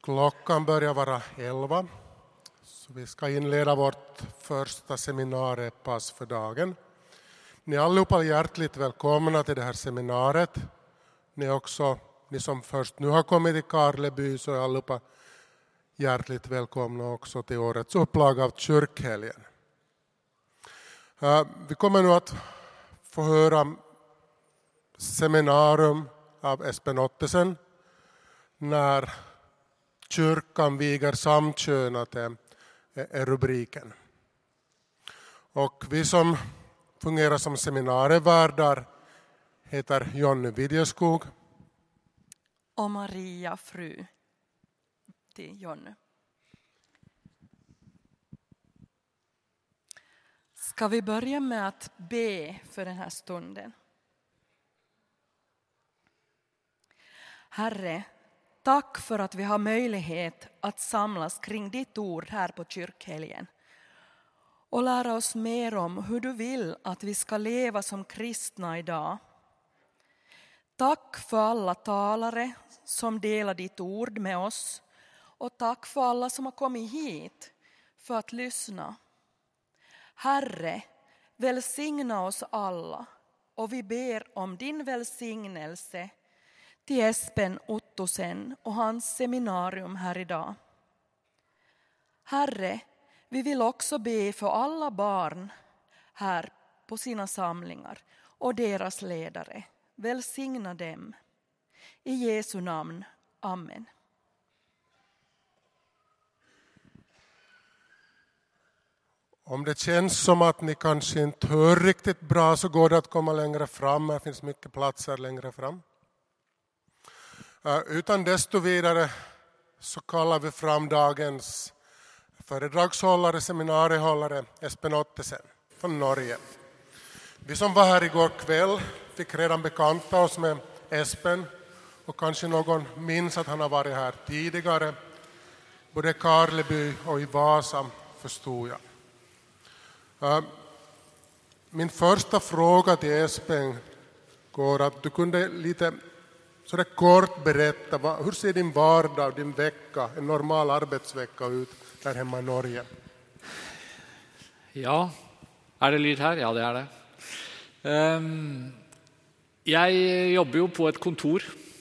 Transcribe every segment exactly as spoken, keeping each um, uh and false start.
Klockan börjar vara elva, så vi ska inleda vårt första seminariepass för dagen. Ni är allihopa hjärtligt välkomna till det här seminariet. Ni är också, ni som först nu har kommit till Karleby, så är allihopa hjärtligt välkomna också till årets upplaga av kyrkhelgen. Vi kommer nu att få höra seminarium av Espen Ottesen när kyrkan viger samkönat är rubriken. Och vi som fungerar som seminarievärdar heter Jonny Vidjeskog och Maria, fru till Jonny. Ska vi börja med att be för den här stunden? Herre, tack för att vi har möjlighet att samlas kring ditt ord här på kyrkhelgen och lära oss mer om hur du vill att vi ska leva som kristna idag. Tack för alla talare som delar ditt ord med oss och tack för alla som har kommit hit för att lyssna. Herre, välsigna oss alla och vi ber om din välsignelse till Espen Ottesen och hans seminarium här idag. Herre, vi vill också be för alla barn här på sina samlingar och deras ledare. Välsigna dem. I Jesu namn. Amen. Om det känns som att ni kanske inte hör riktigt bra, så går det att komma längre fram. Det finns mycket platser längre fram. Utan desto vidare så kallar vi fram dagens föredragshållare, seminariehållare Espen Ottesen från Norge. Vi som var här igår kväll fick redan bekanta oss med Espen, och kanske någon minns att han har varit här tidigare. Både i Karleby och i Vasa, förstod jag. Min första fråga till Espen går att du kunde lite så där kort berätta, vad, hur ser din vardag, din vecka, en normal arbetsvecka ut där hemma i Norge? Ja, är det lyd här? Ja, det är det. Um, jag jobbar ju på ett kontor,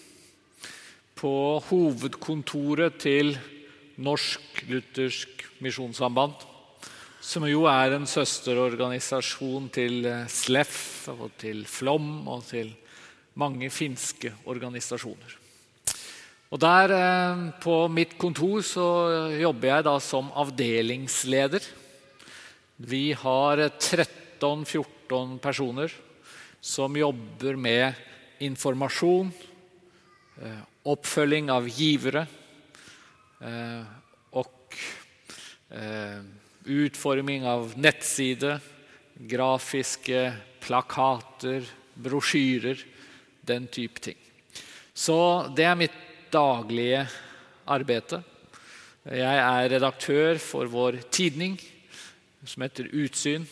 på huvudkontoret till Norsk Luthersk Missionssamband, som ju är en søsterorganisation till S L E F och till Flom och till många finska organisationer. Och där på mitt kontor så jobbar jag då som avdelningsleder. Vi har tretton fjorton personer som jobbar med information, uppföljning av givare och utformning av nettsidor, grafiska plakater, broschyrer, den typ ting. Så det är mitt dagliga arbete. Jag är redaktör för vår tidning som heter Utsyn.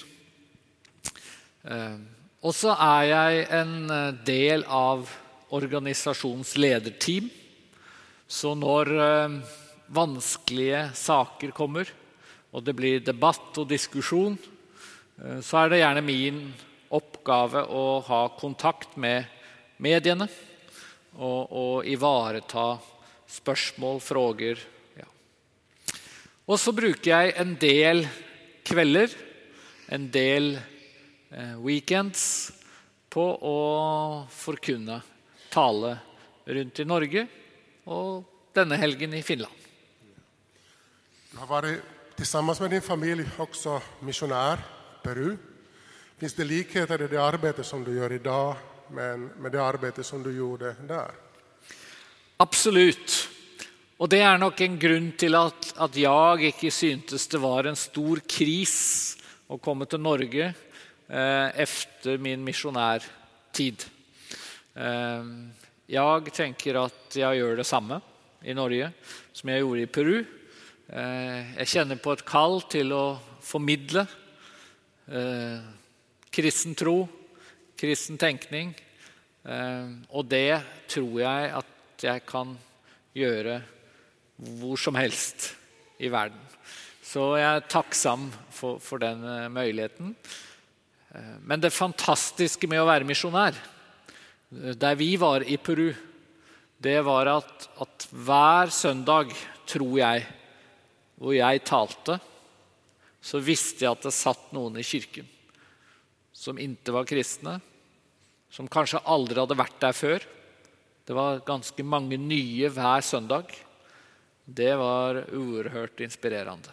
Och så är jag en del av organisationsledarteam. Så när vanskliga saker kommer och det blir debatt och diskussion, så är det gärna min uppgave att ha kontakt med medierna och, och ivareta spørsmål, frågor. Ja. Och så brukar jag en del kvällar, en del eh, weekends på att förkunna, tala runt i Norge och denna helgen i Finland. Du har varit tillsammans med din familj också missionär i Peru. Finns det likheter i det arbete som du gör idag men med det arbete som du gjorde där? Absolut. Och det är nog en grund till att, att jag inte syntes det var en stor kris att komma till Norge eh, efter min missionärtid. Eh, jag tänker att jag gör det samma i Norge som jag gjorde i Peru. Eh, jag känner på ett kall till att förmedla eh, kristen tro, kristen tänkning. Eh, och det tror jag att jag kan göra hvor som helst i verden. Så jeg er takksam for, for den muligheten. Men det fantastiske med å være misjonær, der vi var i Peru, det var at, at hver søndag, tror jeg, hvor jeg talte, så visste jeg at det satt noen i kirken som ikke var kristne, som kanskje aldri hadde vært der før. Det var ganske mange nye hver søndag. Det var oerhört inspirerande.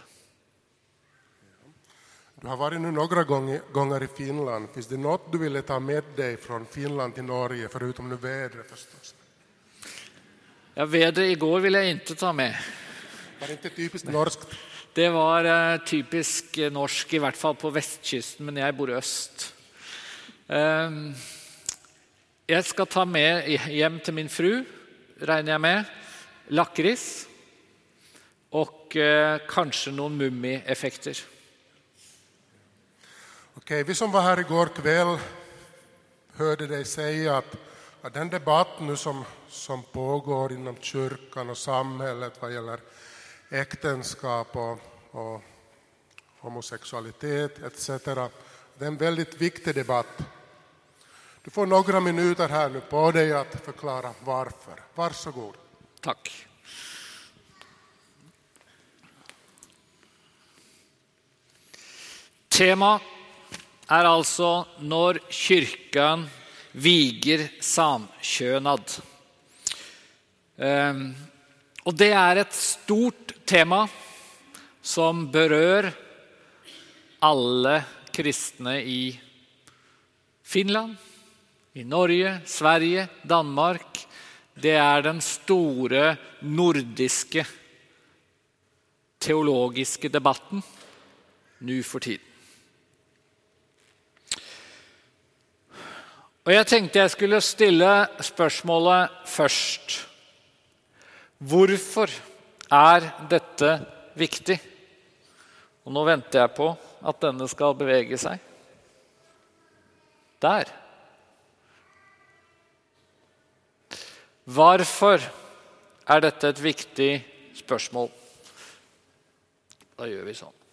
Du har varit nu några gånger, gånger i Finland. Finns det något du ville ta med dig från Finland till Norge, förutom nu vädret förstås? Ja, vädret igår vill jag inte ta med. Var det inte typiskt norskt? Det var uh, typisk norsk, i hvert fall på vestkysten, men jeg bor i øst. Uh, jeg skal ta med hjem til min fru, regner jeg med, lakris, og uh, kanskje noen mummi-effekter. Okej, vi som var här igår kväll hörde dig säga att, att den debatt nu som, som pågår inom kyrkan och samhället vad gäller äktenskap och, och homosexualitet et cetera. Det är en väldigt viktig debatt. Du får några minuter här nu på dig att förklara varför. Varsågod. Tack. Tema är alltså när kyrkan viger samkönad. Um, och det är ett stort tema som berör alla kristna i Finland, i Norge, Sverige, Danmark. Det är den stora nordiska teologiska debatten nu för tiden. Och jag tänkte jag skulle ställa spørsmålet först. Varför är detta viktigt? Och nu väntar jag på att denne ska bevege sig. Där. Varför är detta ett viktigt spørsmål? Då gör vi så.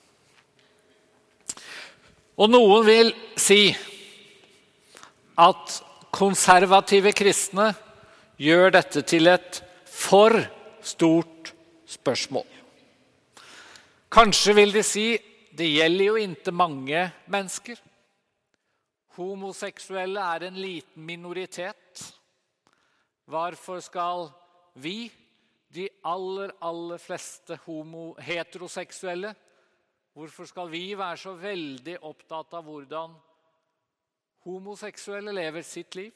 Och någon vill si att konservative kristne gör detta till ett för stort spørsmål. Kanske vill de si, det gäller ju inte många människor. Homosexuella är en liten minoritet. Varför ska vi, de aller, aller fleste homo, heterosexuelle, varför ska vi vara så väldigt upptatt av hvordan homosexuelle lever sitt liv?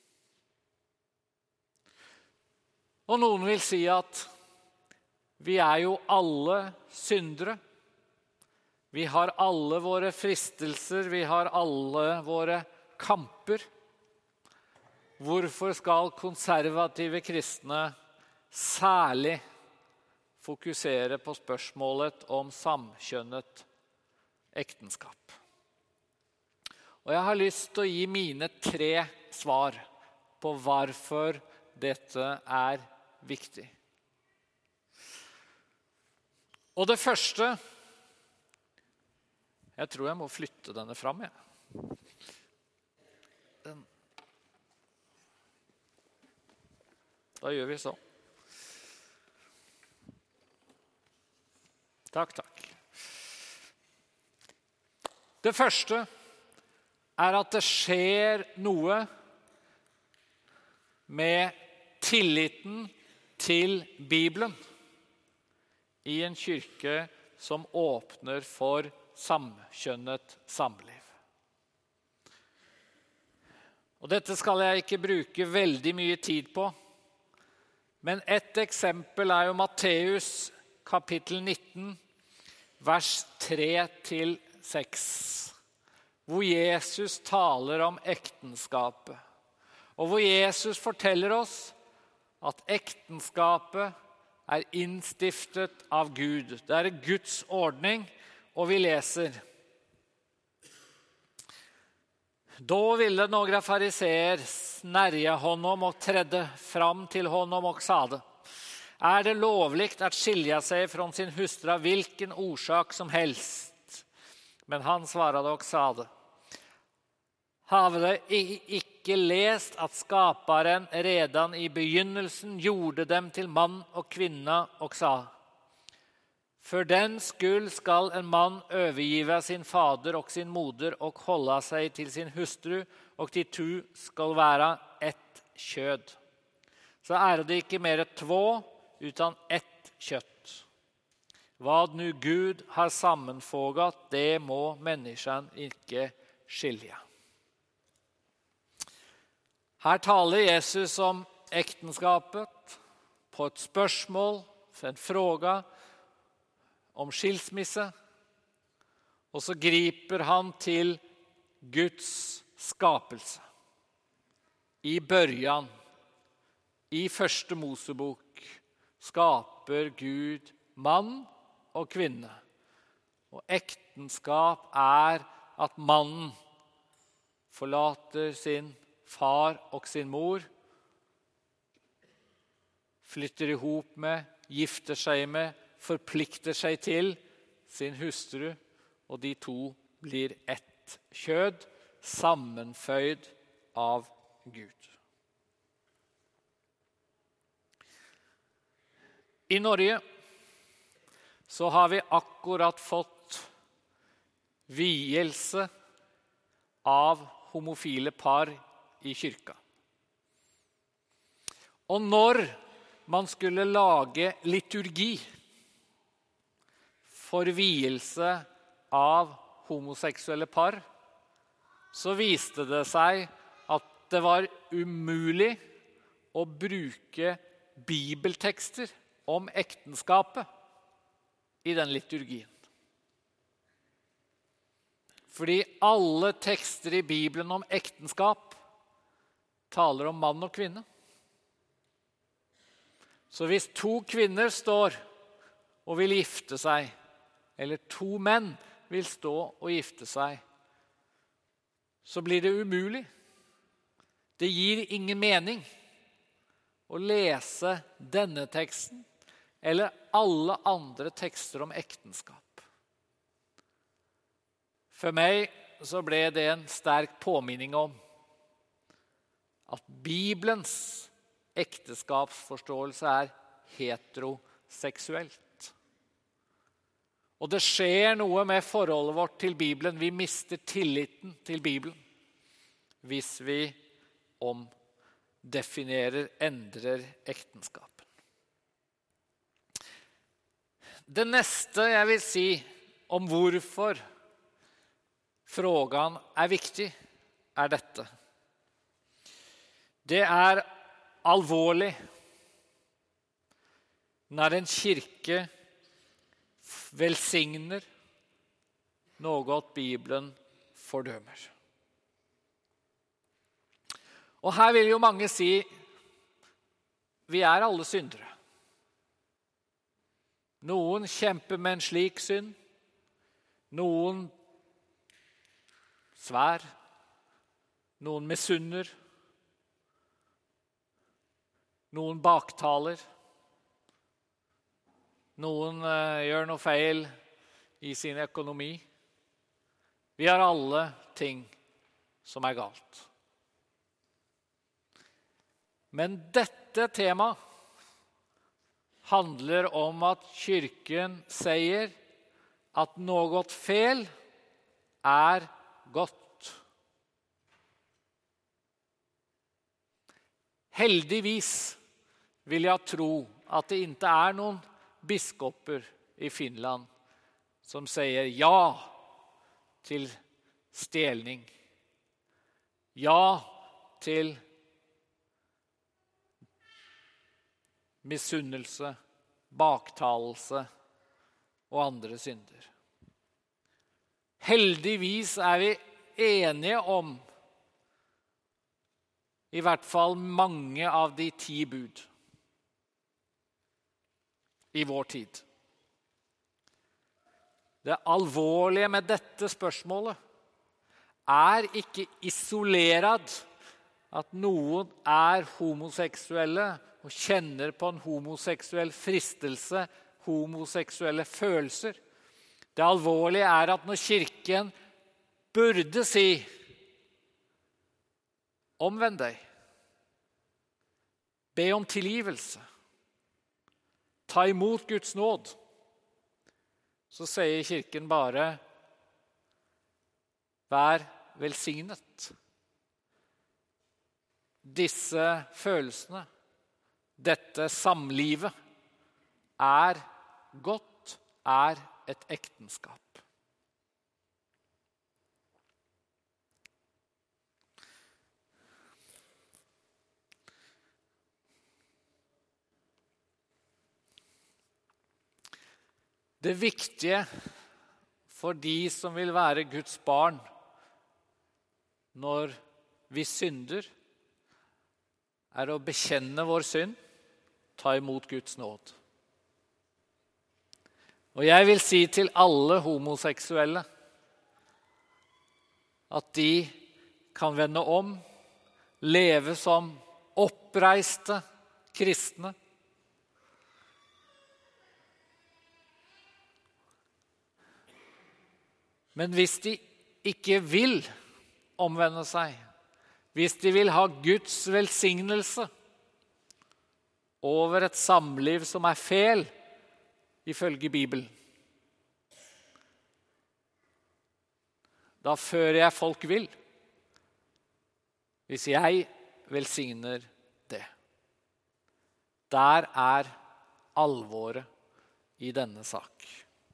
Och någon vill säga att vi är ju alla syndare. Vi har alla våra fristelser, vi har alla våra kamper. Varför ska konservative kristne särskilt fokusera på spørsmålet om samkjønnet äktenskap? Och jag har lust att ge mina tre svar på varför detta är viktigt. Och det första, jag tror jag må flytta denne fram. Ja. Den. Då gör vi så. Tack, tack. Det första är att det sker noe med tilliten till Bibeln i en kyrka som öppnar för samkjønnet samliv. Och detta ska jag inte bruka väldigt mycket tid på. Men ett exempel är ju Matteus kapitel nitton, vers tre till sex. Hvor Jesus taler om äktenskapet. Och hvor Jesus forteller oss att äktenskapet är instiftet av Gud. Det är Guds ordning, och vi läser. Då ville några fariseer snärja honom och trädde fram till honom och sade: är det lovligt att skilja sig från sin hustru av vilken orsak som helst. Men han svarade och sade: Havde icke läst att skaparen redan i begynnelsen gjorde dem till man och kvinna och sa: För den skull skall en man övergiva sin fader och sin moder och hålla sig till sin hustru, och de tu skall vara ett köd. Så är det inte mer två, utan ett kött. Vad nu Gud har sammanfogat, det må människan inte skilja. Här talar Jesus om äktenskapet på ett spörsmål, för en fråga om skilsmisse. Och så griper han till Guds skapelse. I början, i första Mosebok, skapar Gud man och kvinna. Och äktenskap är att mannen förlater sin far och sin mor, flyttar ihop med, gifter sig med, förpliktar sig till sin hustru, och de två blir ett köd, sammanföjd av Gud. I Norge så har vi akkurat fått vielse av homofile par i kyrkan. Och när man skulle lage liturgi för vielse av homosexuella par, så viste det sig att det var umuligt att bruka bibeltexter om äktenskapet i den liturgin. Fordi alla texter i Bibeln om äktenskap talar om man och kvinna. Så hvis två kvinnor står och vill gifta sig, eller två män vill stå och gifta sig, så blir det umuligt. Det ger ingen mening att läsa denna texten eller alla andra texter om äktenskap. För mig så blev det en stark påminning om att Bibelns äktenskapsförståelse är heterosexuellt. Och det sker något med förhållet vårt till Bibeln. Vi mister tilliten till Bibeln hvis vi omdefinierar, ändrar äktenskapen. Det nästa jag vill säga om varför frågan är viktig är detta. Det är allvarligt när en kyrka välsignar något Bibeln fördömer. Och här vill ju många säga, vi är alla syndare. Någon kämpar med en slik synd, någon svär, någon missunner, någon baktaler, någon uh, gör något fel i sin ekonomi. Vi har alla ting som är galt. Men detta tema handlar om att kyrkan säger att något fel är gott. Heldigvis vill jag tro att det inte är någon biskoper i Finland som säger ja till stelning, ja till missunnelse, baktalelse och andra synder. Heldigvis är vi eniga om i vart fall många av de tio bud i vår tid. Det allvarliga med detta spörsmålet är inte isolerat att någon är homosexuella og kjenner på en homoseksuell fristelse, homoseksuelle følelser. Det alvorlige er at når kirken burde si omvend deg, be om tilgivelse, ta imot Guds nåd, så sier kirken bare vær velsignet. Disse følelsene, dette samlivet, er godt, er et ekteskap. Det viktige for de som vil være Guds barn når vi synder, er å bekjenne vår synd, ta imot Guds nåd. Og jeg vil si til alle homoseksuelle at de kan vende om, leve som oppreiste kristne. Men hvis de ikke vil omvende seg, hvis de vil ha Guds velsignelse over et samliv som er fel, ifølge Bibelen, da fører jeg folk vil, hvis jeg velsigner det. Der er alvoret i denne sak.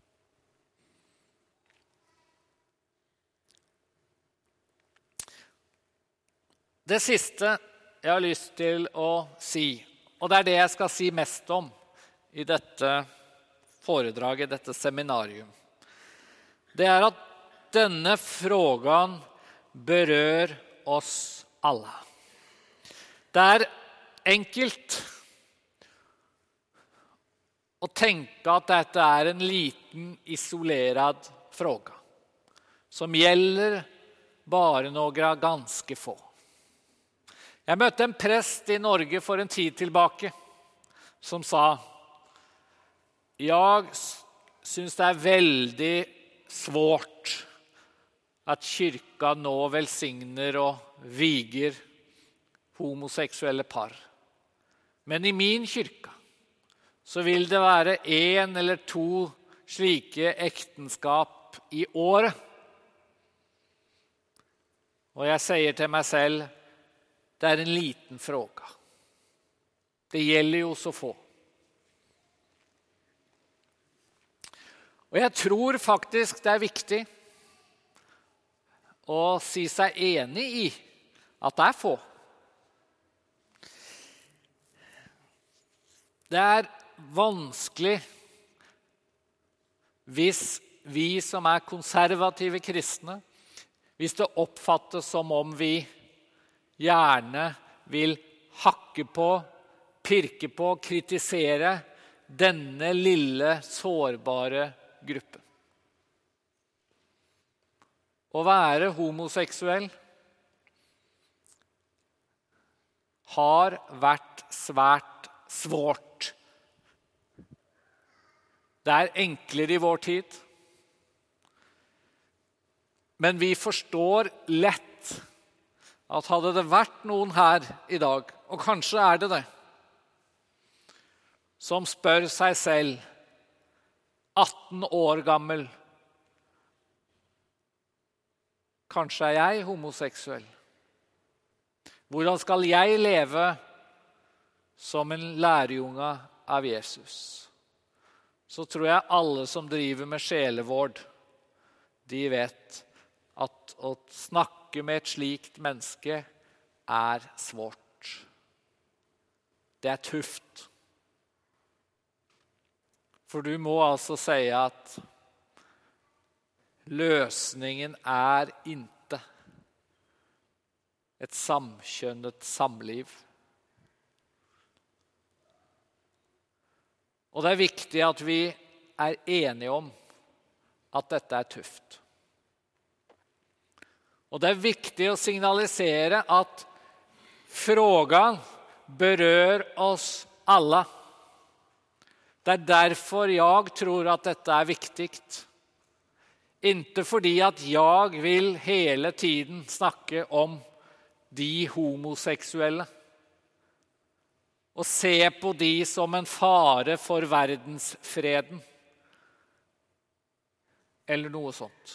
Det siste jeg har lyst til å si, og det er det jeg skal si mest om i dette foredraget, dette seminarium, det er at denne frågan berør oss alle. Det er enkelt å tenke at dette er en liten, isolerad fråga, som gjelder bare noen ganske få. Jeg møtte en prest i Norge for en tid tilbake som sa, jeg synes det er veldig svårt at kyrka nå velsigner og viger homoseksuelle par. Men i min kyrka så vil det være en eller to slike ekteskap i året. Og jeg sier til meg selv, det er en liten fråga. Det gjelder jo så få. Og jeg tror faktisk det er viktig å si seg enig i at det er få. Det er vanskelig hvis vi som er konservative kristne, hvis det oppfattes som om vi gjerne vil hakke på, pirke på, kritisere denne lille, sårbare gruppen. Å være homoseksuell har vært svært svårt. Det er enklere i vår tid, men vi forstår lett at hadde det vært noen her i dag, og kanskje er det det, som spør seg selv, atten år gammel, kanskje er jeg homoseksuell. Hvordan skal jeg leve som en lærjunge av Jesus? Så tror jeg alle som driver med sjelevård, de vet at å snakke med et slikt menneske er svårt. Det er tøft. For du må altså si at løsningen er ikke et samkjønnet samliv. Og det er viktig at vi er enige om at dette er tøft. Og det er viktig å signalisere at frågan berør oss alla. Det är därför jag tror att detta är viktigt. Inte fordi att jag vill hela tiden snacka om de homosexuella och se på de som en fare för världsfreden eller något sånt.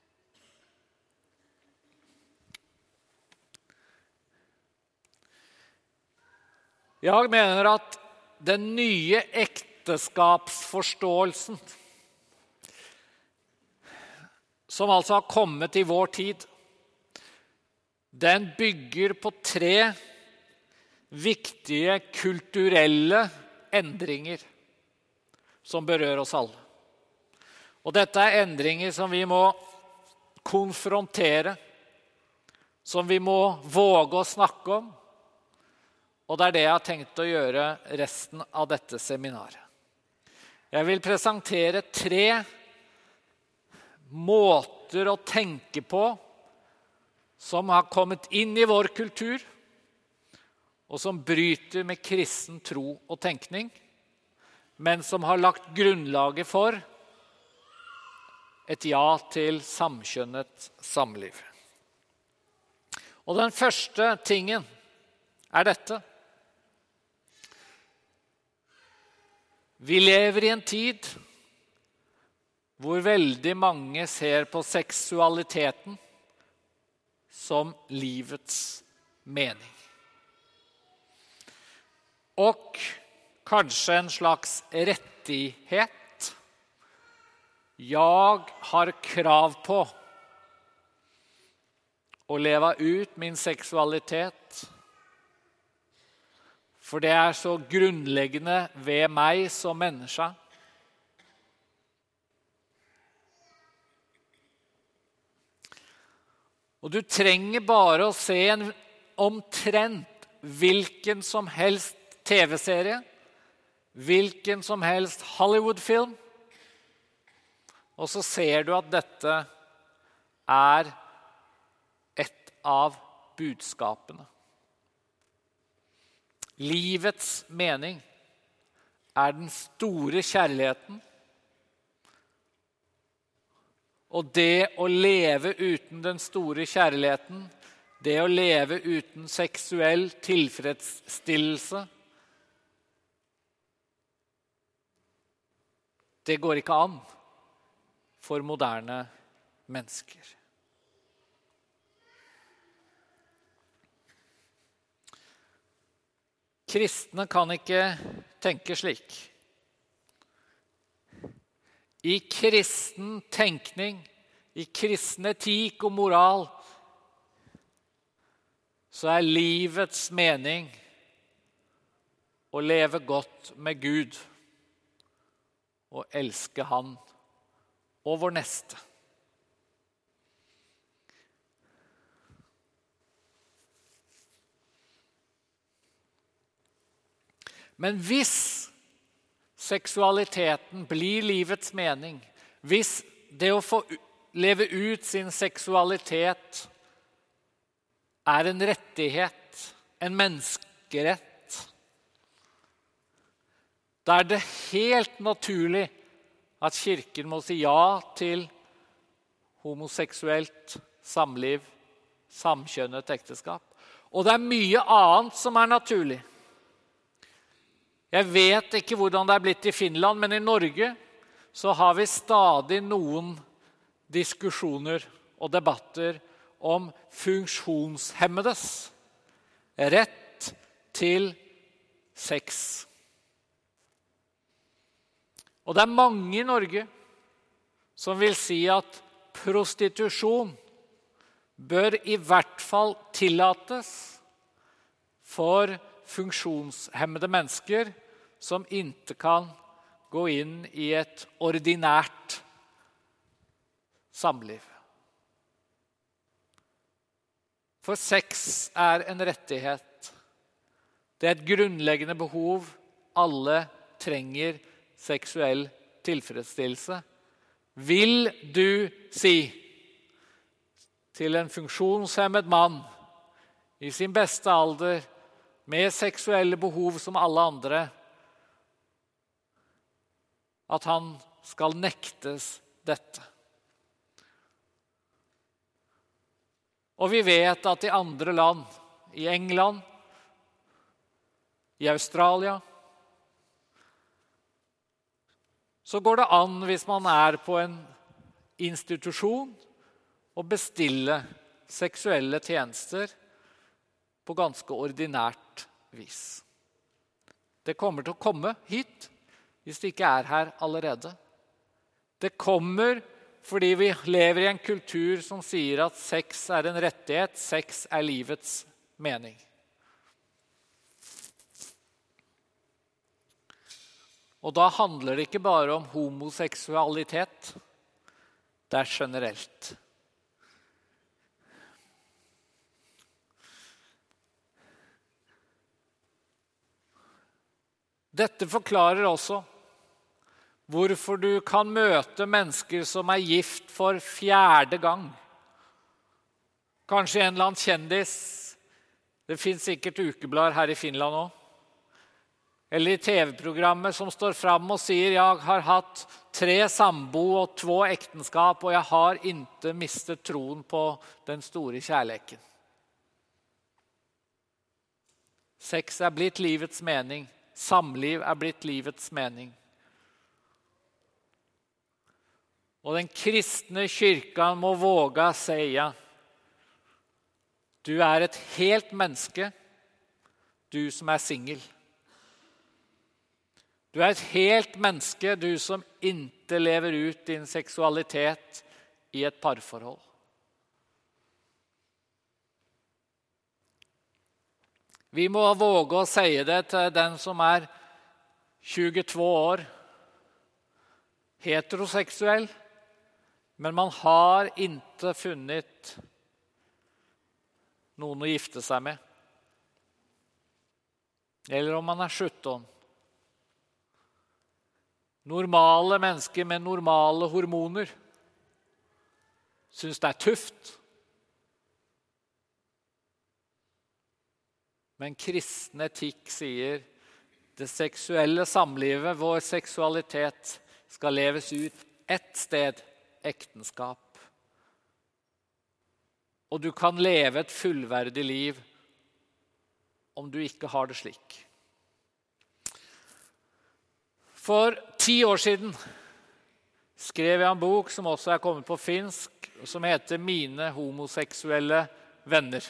Jag menar att den nya äktenskapsförståelsen som alltså har kommit i vår tid, den bygger på tre viktiga kulturella ändringar som berör oss alla. Och detta är ändringar som vi må konfrontera, som vi må våga snacka om. Och det är det jag har tänkt att göra resten av detta seminarium. Jag vill presentera tre måter att tänka på som har kommit in i vår kultur och som bryter med kristen tro och tänkning, men som har lagt grundlaget för ett ja till samkönnet samliv. Och den första tingen är detta. Vi lever i en tid hvor väldigt många ser på sexualiteten som livets mening. Och kanske en slags rättighet. Jag har krav på att leva ut min sexualitet. För det är så grundläggande ved mig som människa. Och du tränger bara att se en omtrent vilken som helst tv-serie, vilken som helst Hollywoodfilm. Och så ser du att detta är ett av budskapen. Livets mening är den stora kärleken. Och det att leva utan den stora kärleken, det att leva utan sexuell tillfredsställelse, det går inte an för moderna människor. Kristna kan inte tänka slik. I kristen tänkning, i kristen etik och moral, så är livets mening att leva gott med Gud och älska han och vår nästa. Men hvis sexualiteten blir livets mening, hvis det att få leva ut sin sexualitet är en rättighet, en mänsklighet, då är det helt naturligt att kyrkan måste säga ja till homosexuellt samliv, samkönnet äktenskap. Och det är mycket annat som är naturligt. Jag vet inte hur det är blivit i Finland, men i Norge så har vi stadig någon diskussioner och debatter om funktionshämmades rätt till sex. Och det är många i Norge som vill säga att prostitution bör i vart fall tillåtas för funktionshämmade människor som inte kan gå in i ett ordinärt samliv. För sex är en rättighet. Det är ett grundläggande behov. Alla tränger sexuell tillfredsställelse. Vill du se till en funktionshämmad man i sin bästa ålder med sexuella behov som alla andra, at han skal nektes dette. Og vi vet at i andre land, i England, i Australia, så går det an hvis man er på en institusjon å bestille seksuelle tjenester på ganske ordinært vis. Det kommer til å komme hit, hvis det ikke er her allerede. Det kommer fordi vi lever i en kultur som sier at sex er en rettighet, sex er livets mening. Og da handler det ikke bare om homoseksualitet, det er generelt. Dette forklarer også hvorfor du kan møte mennesker som er gift for fjerde gang. Kanskje en eller annen kjendis. Det finnes sikkert ukeblader her i Finland også. Eller i T V-programmet som står fram og sier «Jeg har hatt tre sambo og två ektenskap, og jeg har ikke mistet troen på den store kjærleken». Sex er blitt livets mening. Samliv er blitt livets mening. Og den kristne kyrkan må våga säga, du er et helt menneske, du som er singel. Du er et helt menneske, du som ikke lever ut din seksualitet i et parforhold. Vi må våge å si det til den som er tjuetvå år, heteroseksuell, men man har ikke funnet noen å gifte seg med. Eller om man er sjutton. Normale mennesker med normale hormoner synes det er tøft. Men kristen etikk sier det seksuelle samlivet, vår seksualitet, skal leves ut ett sted, ekteskap. Og du kan leve et fullverdig liv om du ikke har det slik. For ti år siden skrev jeg en bok som også er kommet på finsk, som heter «Mine homoseksuelle venner».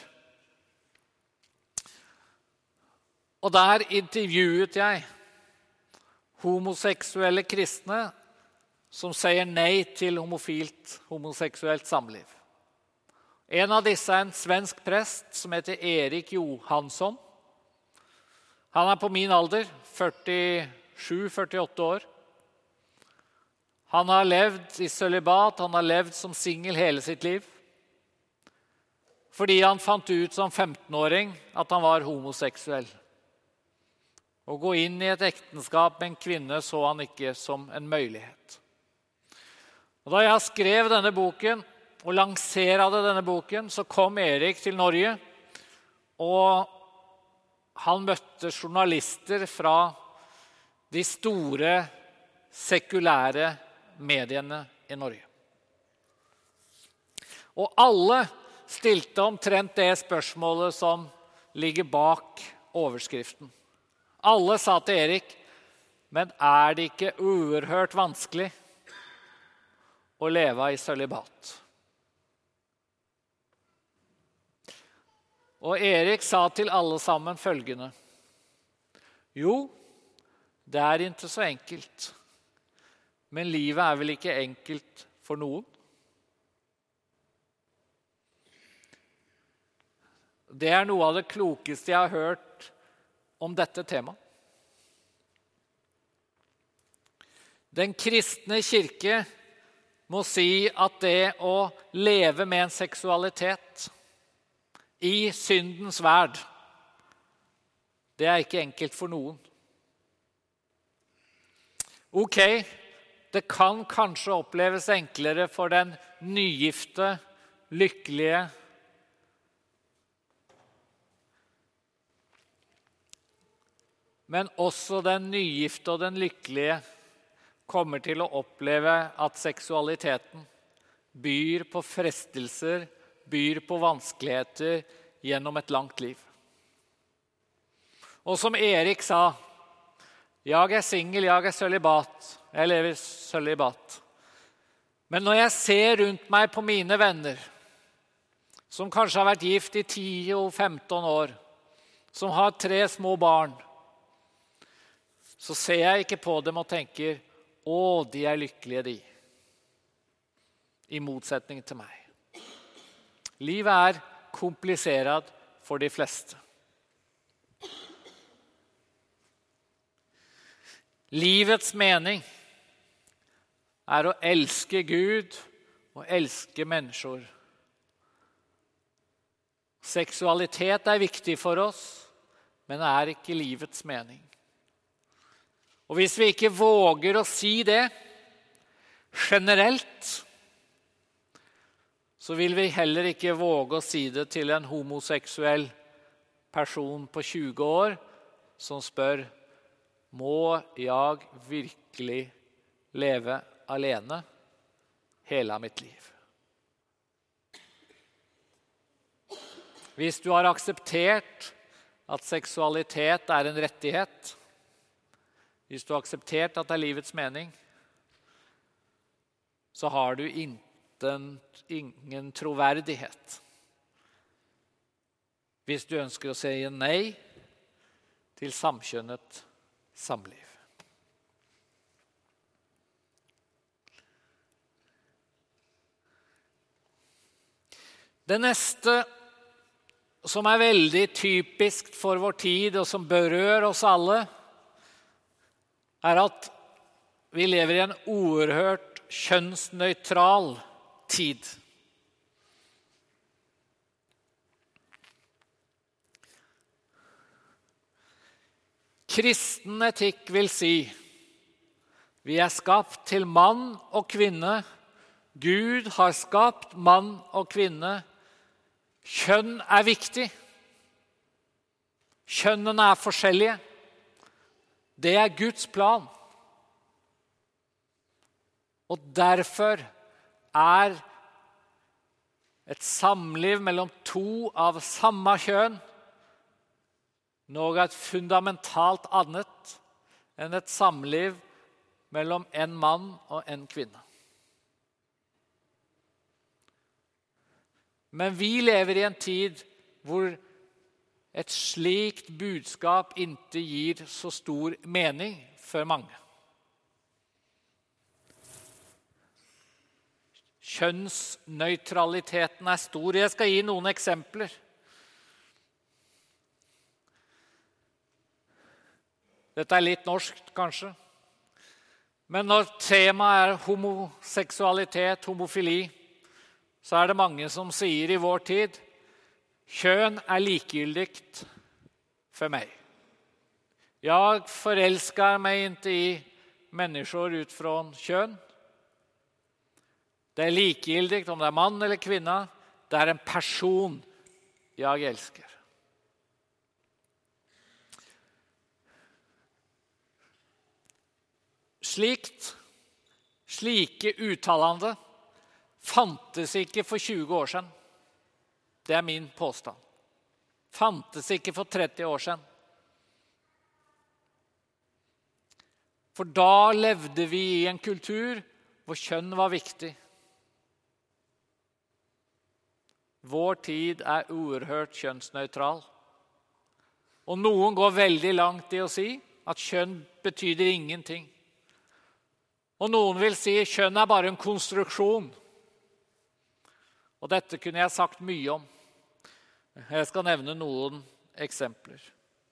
Og der intervjuet jeg homoseksuelle kristne som sier nei til homofilt, homoseksuelt samliv. En av disse er en svensk prest som heter Erik Johansson. Han er på min alder, førtisju førtiåtte år. Han har levd i sølibat, han har levd som singel hele sitt liv. Fordi han fant ut som femtenåring at han var homoseksuell. Å gå inn i et ekteskap med en kvinne så han ikke som en mulighet. Og da jeg skrev denne boken og lanserte denne boken, så kom Erik til Norge, og han møtte journalister fra de store sekulære mediene i Norge. Og alle stilte omtrent det spørsmålet som ligger bak overskriften. Alle sa til Erik, men er det ikke uerhørt vanskelig å leve i sølibat? Og Erik sa til alle sammen følgende, jo, det er ikke så enkelt, men livet er vel ikke enkelt for noen? Det er noe av det klokeste jeg har hørt om dette temaet. Den kristne kirke må si at det å leve med en seksualitet i syndens verd, det er ikke enkelt for noen. Ok, det kan kanskje oppleves enklere for den nygifte, lykkelige, men også den nygifte og den lykkelige kommer til å oppleve at seksualiteten byr på frestelser, byr på vanskeligheter gjennom et langt liv. Og som Erik sa, jeg er singel, jeg er sølibat, jeg lever sølibat. Men når jeg ser rundt meg på mine venner, som kanskje har vært gift i ti og femten år, som har tre små barn, så ser jeg ikke på dem og tenker, å, de er lykkelige de. I motsetning til meg. Livet er komplisert for de fleste. Livets mening er å elske Gud og elske mennesker. Seksualitet er viktig for oss, men er ikke livets mening. Og hvis vi ikke våger å si det generelt, så vil vi heller ikke våge å si det til en homoseksuell person på tjue år som spør, må jeg virkelig leve alene hele mitt liv? Hvis du har akseptert at seksualitet er en rettighet, hvis du har akseptert at det er livets mening, så har du ingen, ingen troverdighet. Hvis du ønsker å si nei til samkjønnet samliv. Det neste som er veldig typisk for vår tid, og som berører oss alle, er at vi lever i en oerhørt kjønnsnøytral tid. Kristen etikk vil si, vi er skapt til mann og kvinne, Gud har skapt mann og kvinne, kjønn er viktig, kjønnene er forskjellige, det er Guds plan. Og derfor er et samliv mellom to av samme kjønn noe fundamentalt annet enn et samliv mellom en mann og en kvinne. Men vi lever i en tid hvor et slikt budskap ikke gir så stor mening for mange. Kjønnsnøytraliteten er stor. Jeg skal gi noen eksempler. Dette er litt norsk, kanskje. Men når temaet er homoseksualitet, homofili, så er det mange som sier i vår tid, kjønn er likegyldigt for meg. Jeg forelsker meg ikke i mennesker ut fra kjønn. Det er likegyldigt om det er mann eller kvinne. Det er en person jeg elsker. Slikt, slike uttalende fantes ikke for tjue år siden. Det er min påstand. Fantes ikke for tretti år siden. For da levde vi i en kultur hvor kjønn var viktig. Vår tid er oerhørt kjønnsnøytral. Og noen går veldig langt i å si at kjønn betyder ingenting. Og noen vil si at kjønn er bare en konstruksjon. Og dette kunne jeg sagt mye om. Jeg skal nevne noen eksempler.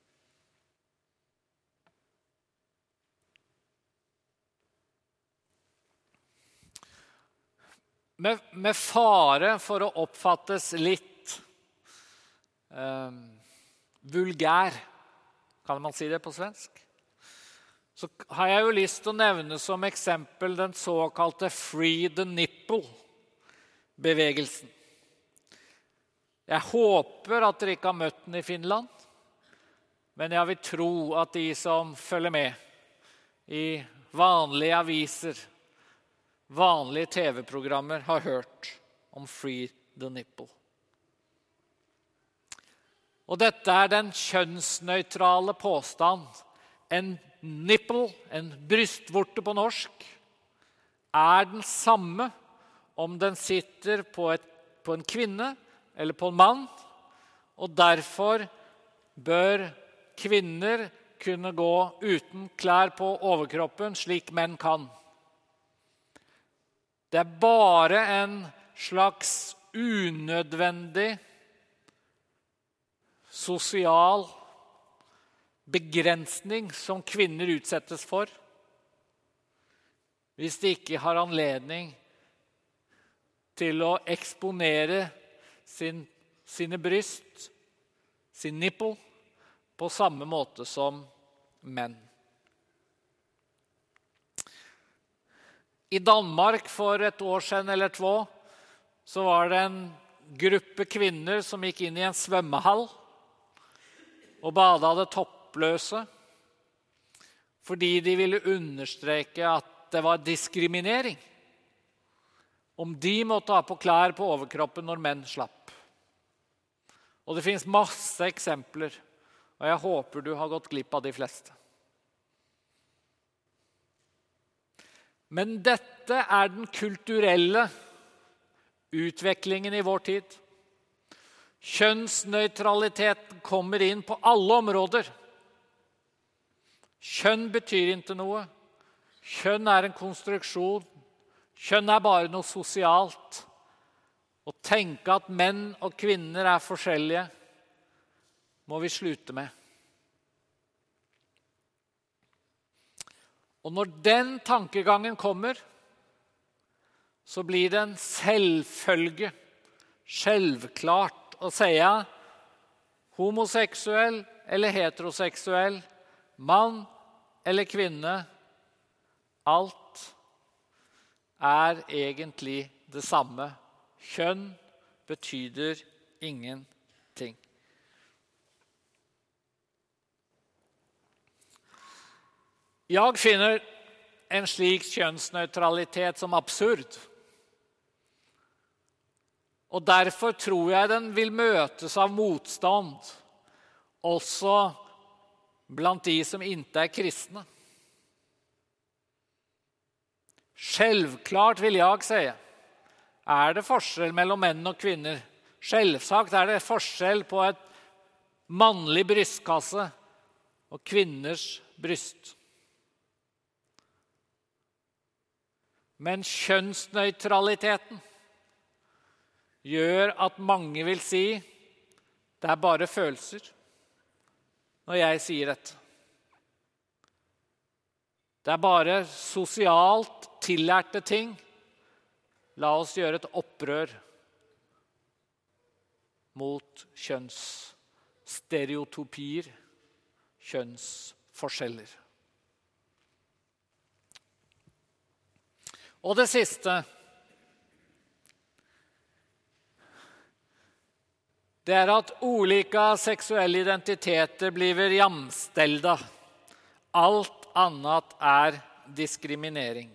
Med, med fare for å oppfattes litt eh, vulgær, kan man si det på svensk, så har jeg jo lyst til å nevne som eksempel den såkalte Free the Nipple-bevegelsen. Jeg håper at dere ikke har møtt den i Finland, men jeg vil tro at de som følger med i vanlige aviser, vanlige tv-programmer har hørt om Free the Nipple. Og dette er den kjønnsnøytrale påstand. En nipple, en brystvorte på norsk, er den samme om den sitter på, et, på en kvinne eller på en mann, og derfor bør kvinner kunne gå uten klær på overkroppen slik menn kan. Det er bare en slags unødvendig sosial begrensning som kvinner utsettes for, hvis de ikke har anledning til å eksponere sin, sine bryst, sin nipple, på samme måte som menn. I Danmark for et år siden eller två, så var det en gruppe kvinner som gikk inn i en svømmehall og bada det toppløse, fordi de ville understreke at det var diskriminering om de måtte ha på klær på overkroppen når menn slapp. Og det finnes masse eksempler, og jeg håper du har gått glipp av de fleste. Men dette er den kulturelle utviklingen i vår tid. Kjønnsnøytraliteten kommer inn på alle områder. Kjønn betyr ikke noe. Kjønn er en konstruksjon. Kjønn er bare noe sosialt. Å tenke at menn og kvinner er forskjellige, må vi slutte med. Og når den tankegangen kommer, så blir det en selvfølge, selvklart å si homoseksuell eller heteroseksuell, mann eller kvinne, alt er egentlig det samme. Kjønn betyder ingenting. Jeg finner en slik kjønnsnøytralitet som absurd. Og derfor tror jeg den vil møtes av motstand, også blant de som ikke er kristne. Selvklart vil jeg si, er det forskjell mellom menn og kvinner. Selvsagt er det forskjell på et mannlig brystkasse og kvinners bryst. Men kjønnsnøytraliteten gjør at mange vil si det er bare følelser når jeg sier dette. Det er bare sosialt tillærte ting. La oss gjøre et opprør mot kjønnsstereotypier, kjønnsforskjeller. Og det siste, det er at olika seksuelle identiteter blir jamställda. Alt annet er diskriminering.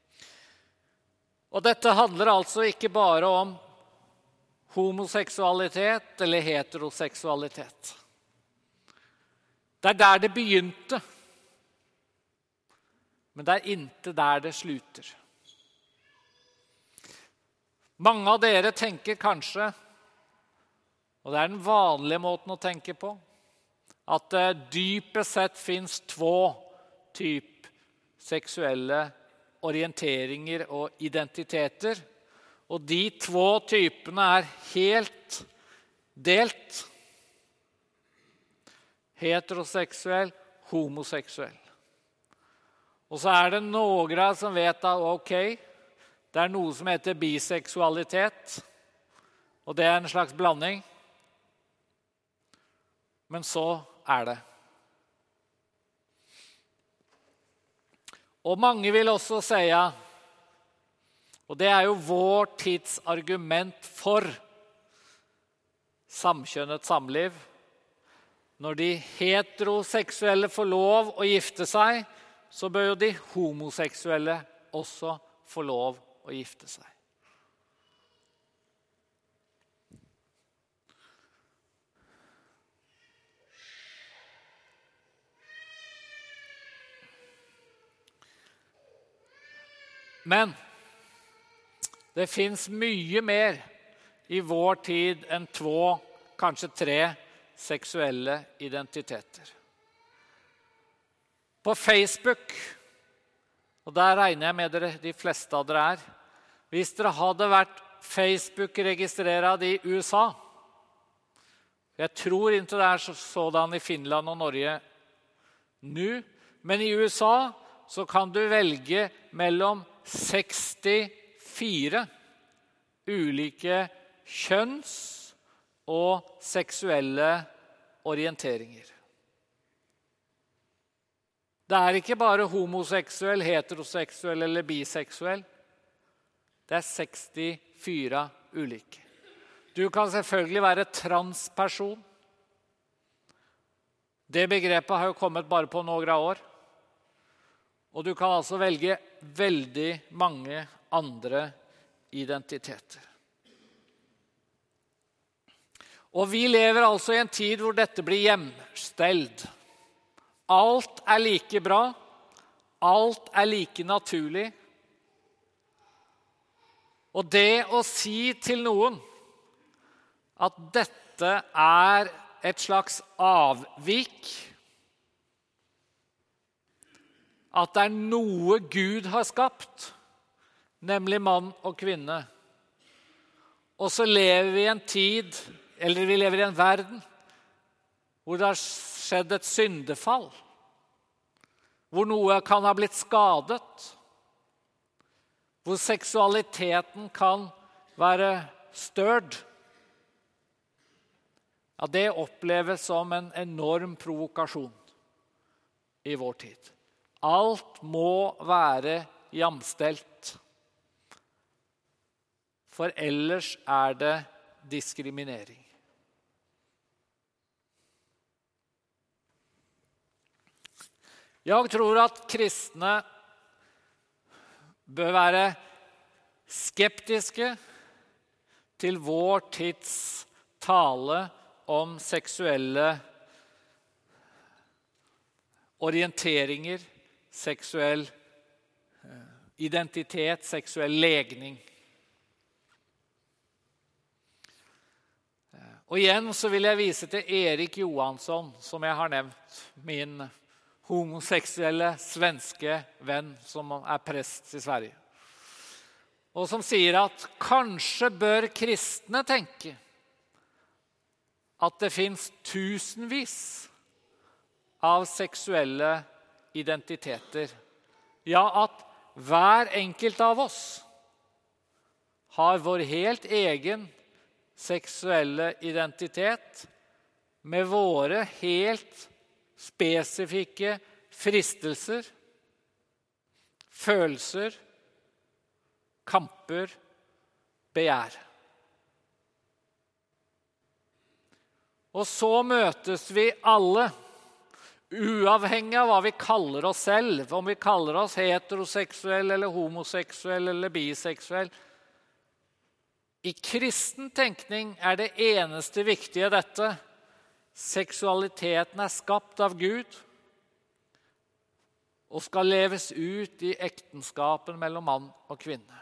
Og dette handler altså ikke bare om homoseksualitet eller heteroseksualitet. Det er der det begynte, men det er ikke der det slutter. Mange av dere tenker kanskje, og det er den vanlige måten å tenke på, at det dypest sett finnes två typ seksuelle orienteringer og identiteter, og de två typene er helt delt. Heteroseksuell, homoseksuell. Og så er det noen som vet at ok, det er noe som heter biseksualitet, og det er en slags blanding. Men så er det. Og mange vil også si, og det er jo vår tids argument for samkjønnet samliv, når de heteroseksuelle får lov å gifte seg, så bør jo de homoseksuelle også få lov å gifte seg. Men det finns mye mer i vår tid enn två, kanskje tre seksuelle identiteter. På Facebook, og der regner jeg med dere, de fleste av dere er, hvis dere hadde vært Facebook-registreret i U S A, jeg tror ikke det er sådan i Finland og Norge nå, men i U S A så kan du velge mellom sekstifire ulike kjønns- og seksuelle orienteringer. Det er ikke bare homoseksuell, heteroseksuell eller biseksuell. Det er sekstifire ulike. Du kan selvfølgelig være transperson. Det begrepet har jo kommet bare på noen år. Og du kan altså velge veldig mange andre identiteter. Og vi lever altså i en tid hvor dette blir hjemsteld. Alt er like bra, alt er like naturlig. Og det å si til noen at dette er et slags avvik, at det er noe Gud har skapt, nemlig mann og kvinne. Og så lever vi i en tid, eller vi lever i en verden, hvor det har skjedd et syndefall, hvor noe kan ha blitt skadet, hvor seksualiteten kan være størd. Ja, det oppleves som en enorm provokasjon i vår tid. Alt må være jamstelt. For ellers er det diskriminering. Jeg tror at kristne bør være skeptiske til vår tids tale om seksuelle orienteringer, seksuell identitet, seksuell legning. Og igjen så vil jeg vise til Erik Johansson, som jeg har nevnt, min homoseksuelle svenske venn som er prest i Sverige. Og som sier at kanskje bør kristne tenke at det finnes tusenvis av seksuelle identiteter. Ja, at hver enkelt av oss har vår helt egen seksuelle identitet med våre helt spesifikke fristelser, følelser, kamper, begjær. Og så møtes vi alle, uavhengig av hva vi kaller oss selv, om vi kaller oss heteroseksuell eller homoseksuell eller biseksuell. I kristen tenkning er det eneste viktige dette: seksualiteten er skapt av Gud og skal leves ut i ektenskapen mellom mann og kvinne.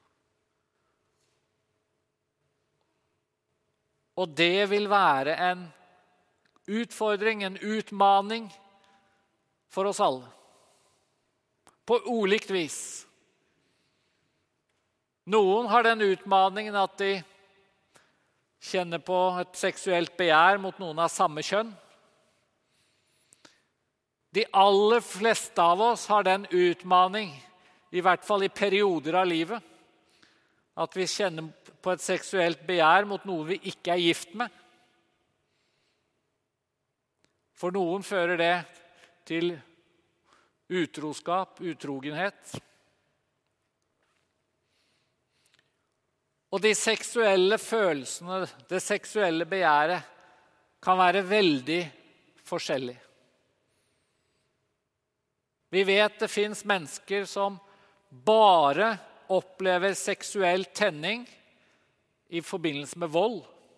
Og det vil være en utfordring, en utmaning for oss alle. På ulikt vis. Noen har den utmaningen at de kjenner på et seksuelt begjær mot noen av samme kjønn. De aller fleste av oss har den utmaning, i hvert fall i perioder av livet, at vi kjenner på et seksuelt begjær mot noen vi ikke er gift med. For noen fører det til utroskap, utrogenhet. Og de seksuelle følelsene, det seksuelle begjæret, kan være veldig forskjellig. Vi vet det finns mennesker som bare opplever seksuell tenning i forbindelse med vold.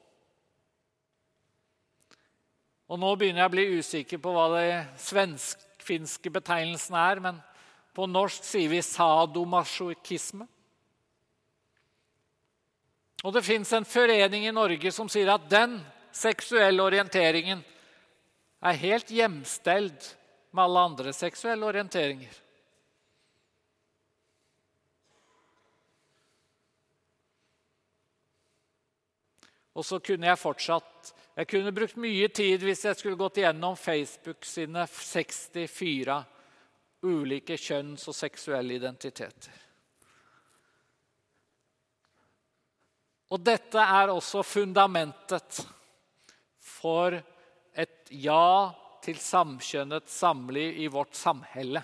Og nå begynner jeg å bli usikker på hva det svensk-finske betegnelsen er, men på norsk sier vi sadomasochisme. Og det finns en forening i Norge som sier at den seksuelle orienteringen er helt jämställd med alle andre seksuelle orienteringer. Og så kunne jeg fortsatt, jeg kunne brukt mye tid hvis jeg skulle gått igjennom Facebook sine sekstifire ulike kjønns- og seksuelle identiteter. Og dette er også fundamentet for et ja til samkjønnet samliv i vårt samhälle.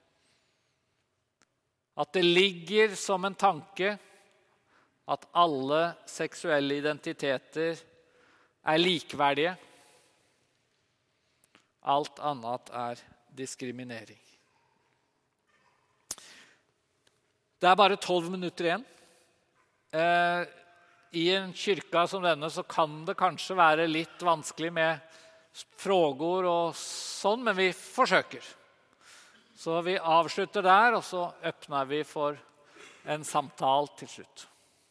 At det ligger som en tanke at alle seksuelle identiteter er likverdige. Alt annet er diskriminering. Det er bare tolv minutter igjen. Eh, I en kyrka som denne så kan det kanskje være litt vanskelig med frågor og sånn, men vi forsøker. Så vi avslutter der, og så öppnar vi for en samtal til slutt.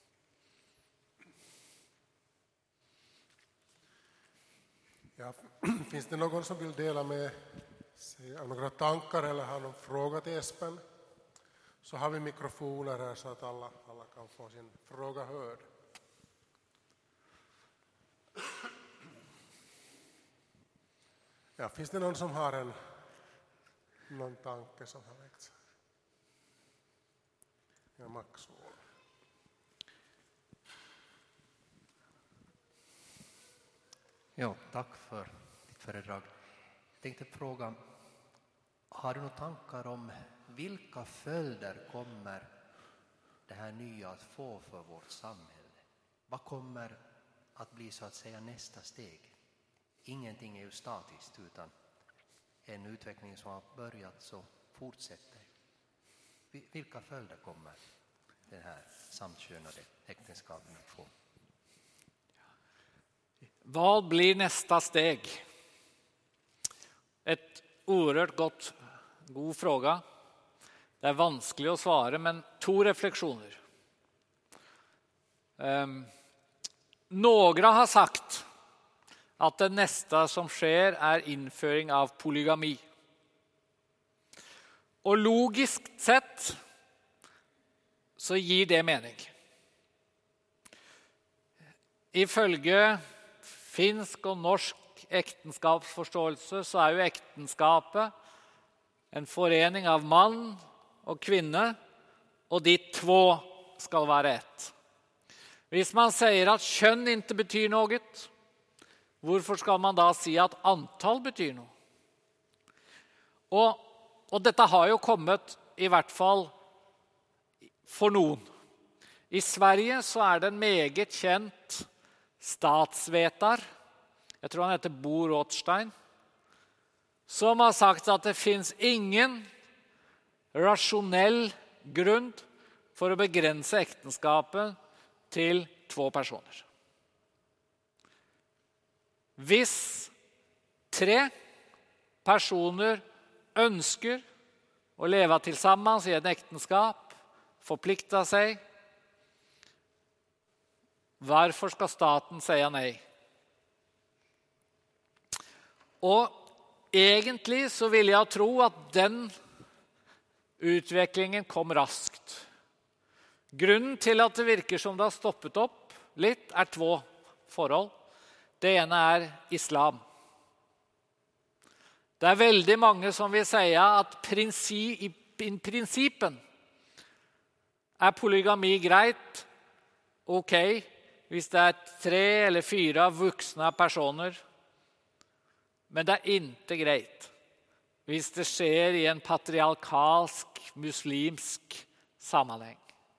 Ja, finns det någon som vill dela med sig av några tankar eller har någon fråga till Espen? Så har vi mikrofoner här så att alla, alla kan få sin fråga hörd. Ja, finns det någon som har en någon tanke som har väckts? Ja, Max. Ja, tack för ditt föredrag. Jag tänkte fråga, har du några tankar om vilka följder kommer det här nya att få för vårt samhälle? Vad kommer att bli så att säga nästa steg? Ingenting är ju statiskt utan en utveckling som har börjat så fortsätter. Vilka följder kommer det här samkönade äktenskapen att få? Vad blir nästa steg? Ett oerhört gott, god fråga. Det är vanskelig å svare, men to refleksjoner. Um, några har sagt at det neste som skjer er innføring av polygami. Og logisk sett så gir det mening. Ifølge finsk og norsk ektenskapsforståelse så er jo ektenskapet en forening av mann og kvinne, og de två skal være ett. Hvis man sier at kjønn ikke betyr noe, hvorfor skal man da si at antall betyr noe? Og, og dette har jo kommet i hvert fall for noen. I Sverige så er det en meget kjent statsvetar, jeg tror han heter Bo Rothstein, som har sagt at det finns ingen rasjonell grunn for å begrense ektenskapet til två personer. Hvis tre personer ønsker å leve tillsammans i et ektenskap, forplikta seg, hvorfor skal staten si nei? Og egentlig så vil jeg tro at den utviklingen kom raskt. Grunnen til at det virker som det har stoppet opp litt er två forhold. Det ene er islam. Det er veldig mange som vil si at prinsi, i prinsipen er polygami greit, ok, hvis det er tre eller fyra vuxna personer, men det er ikke greit hvis det skjer i en patriarkalsk, muslimsk sammenheng.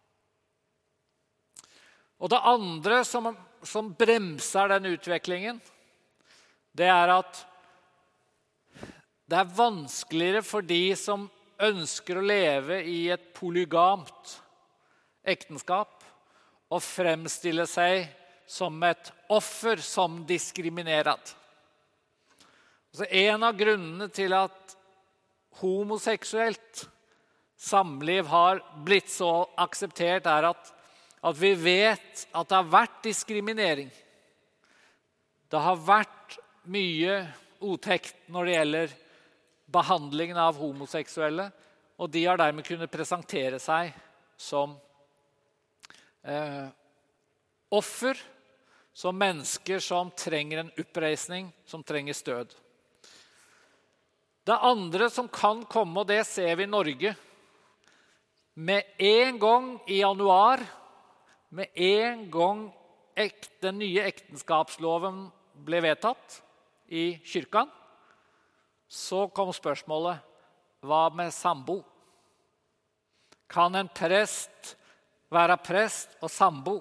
Og det andre som, som bremser den utviklingen, det er at det er vanskeligere for de som ønsker å leve i et polygamt ekteskap og fremstille seg som et offer som diskriminerat. Så en av grunnene til at homoseksuelt samliv har blitt så akseptert er at, at vi vet at det har vært diskriminering. Det har vært mye otekt når det gjelder behandlingen av homoseksuelle, og de har dermed kunnet presentere seg som eh, offer, som mennesker som trenger en oppreisning, som trenger stød. Det andre som kan komme, og det ser vi i Norge, med en gang i januar, med en gang ek, den nye ekteskapsloven ble vedtatt i kyrkan, så kom spørsmålet, hva med sambo? Kan en prest være prest og sambo?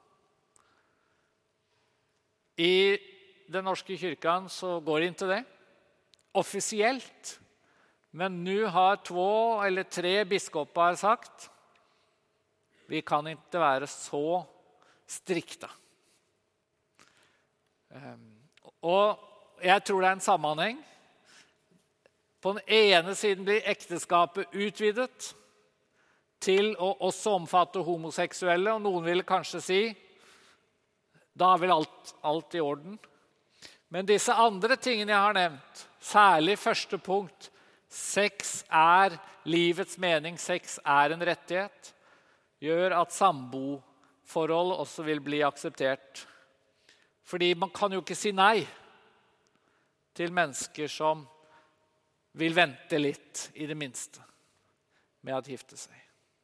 I den norske kyrkan så går det ikke det, offisielt. Men nu har två eller tre biskopar sagt, vi kan ikke være så strikta. Og jeg tror det er en sammenheng. På den ene siden blir ekteskapet utvidet til å også omfatte homoseksuelle, og noen vil kanskje si, da er vel alt, alt i orden. Men disse andre tingene jeg har nevnt, særlig første punkt, sex er livets mening, sex er en rettighet, gjør at samboforhold også vil bli akseptert. Fordi man kan jo ikke si nei til mennesker som vil vente litt, i det minste, med å gifte seg.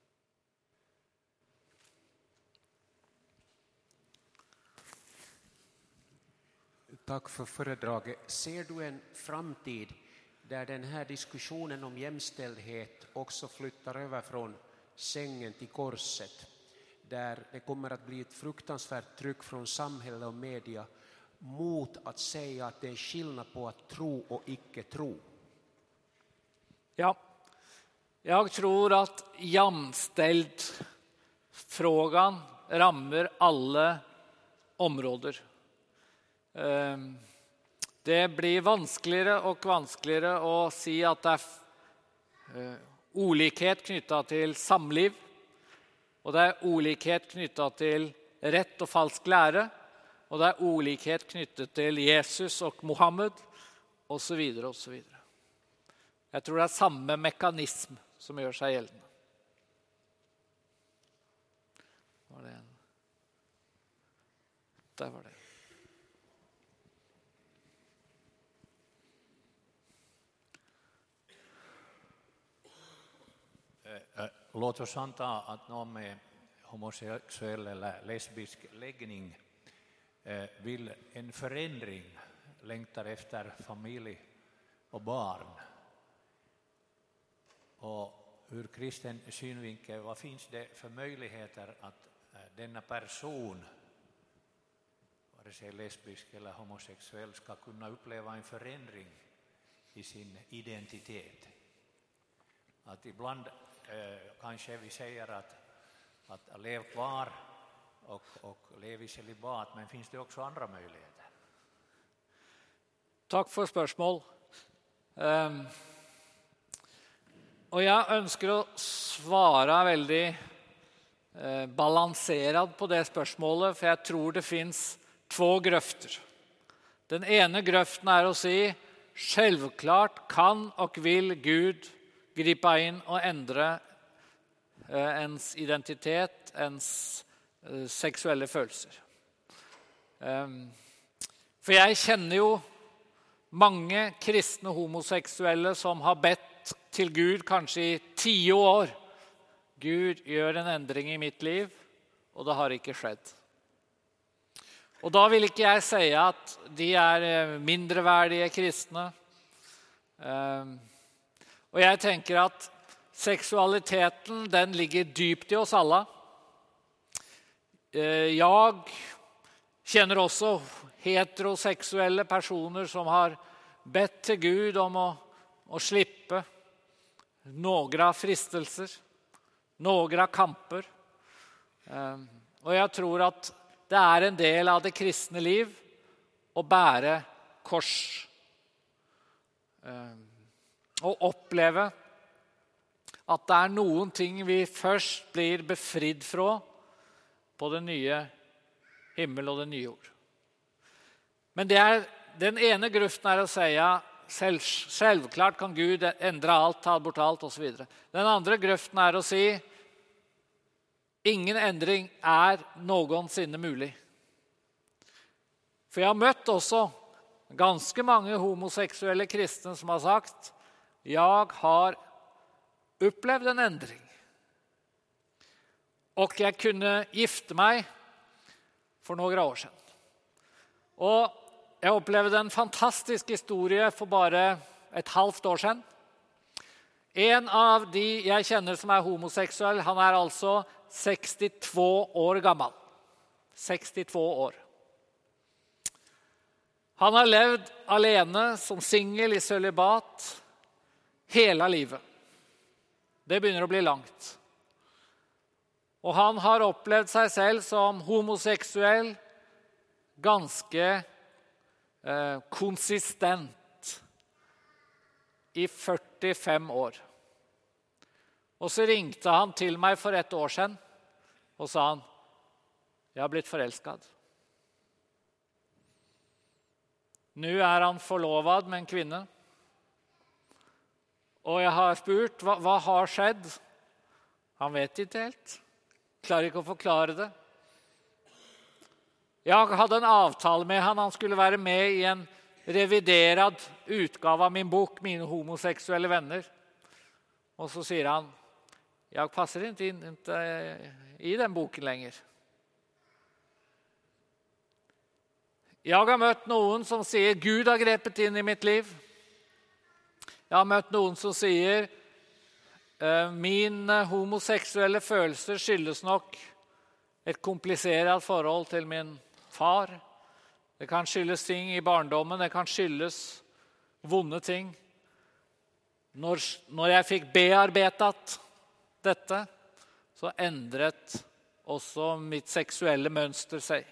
Tack för föredraget. Ser du en framtid där den här diskussionen om jämställdhet också flyttar över från sängen till korset? Där det kommer att bli ett fruktansvärt tryck från samhälle och media mot att säga att det är skillnad på att tro och icke tro. Ja, jag tror att jämställd frågan rammer alla områder. Det blir vanskeligere og vanskeligere å si at det er olikhet knyttet til samliv, og det er olikhet knyttet til rett og falsk lære, og det er olikhet knyttet til Jesus og Mohammed, og så videre, og så videre. Jeg tror det er samme mekanism som gjør seg gjeldende. Var det en? Der var det. Låt oss anta att någon med homosexuell eller lesbisk läggning vill en förändring, längtar efter familj och barn. Och ur kristen synvinkel, vad finns det för möjligheter att denna person, vare sig lesbisk eller homosexuell, ska kunna uppleva en förändring i sin identitet? Att ibland eh, kanske vi säger att, att lev kvar och, och lev i celibat, men finns det också andra möjligheter? Takk for spørsmål. Um, og jeg ønsker å svare veldig eh, balanseret på det spørsmålet, for jeg tror det finns två grøfter. Den ene grøften er å si, selvklart kan og vil Gud gripa inn og endre eh, ens identitet, ens eh, seksuelle følelser. Um, for jeg kjenner jo mange kristne homoseksuelle som har bedt til Gud kanskje i tio år. Gud gjør en endring i mitt liv, og det har ikke skjedd. Og da vil ikke jeg si at de er mindreverdige kristne. Um, og jeg tenker at seksualiteten, den ligger dypt i oss alle. Uh, jeg kjenner også heteroseksuelle personer som har bedt til Gud om å, å slippe några fristelser, några kamper. Och jag tror att det är en del av det kristne liv att bära kors. Och uppleva att det är någonting vi först blir befridd från på den nya himmel och den nya jord. Men det är den ena gruppen är att säga själv, självklart kan Gud ändra allt, ta bort allt och så vidare. Den andra gruppen är att säga ingen ändring är någonsin möjlig. För jag har mött också ganska många homosexuella kristna som har sagt jag har upplevt en ändring. Och jag kunde gifta mig för några år sedan. Och jag upplevde en fantastisk historia för bara ett halvt år sedan. En av de jag känner som är homosexuell, han är alltså sextiotvå år gammal. sextiotvå år. Han har levt alene som singel i celibat hela livet. Det börjar att bli långt. Och han har upplevt sig själv som homosexuell ganska eh, konsistent i fyrtiofem år. Och så ringte han till mig för ett år sedan och sa han, jag har blivit förälskad. Nu är han förlovad med en kvinna. Och jag har spurt, vad, vad har skett? Han vet inte helt. Klarar inte att förklara det. Jag hade en avtal med han, han skulle vara med i en reviderad utgave av min bok, Mina homosexuella vänner. Och så säger han, jag passar inte in inte i den boken längre. Jag har mött någon som säger, Gud har grepet in i mitt liv. Jag har mött någon som säger, min homosexuella känslor skyldes nog ett komplicerat förhåll till min far. Det kan skyldes ting i barndomen, det kan skyldes vonde ting. När, när jag fick bearbetat detta så ändret också mitt sexuella mönster sig.